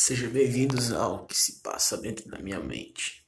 Sejam bem-vindos ao que se passa dentro da minha mente.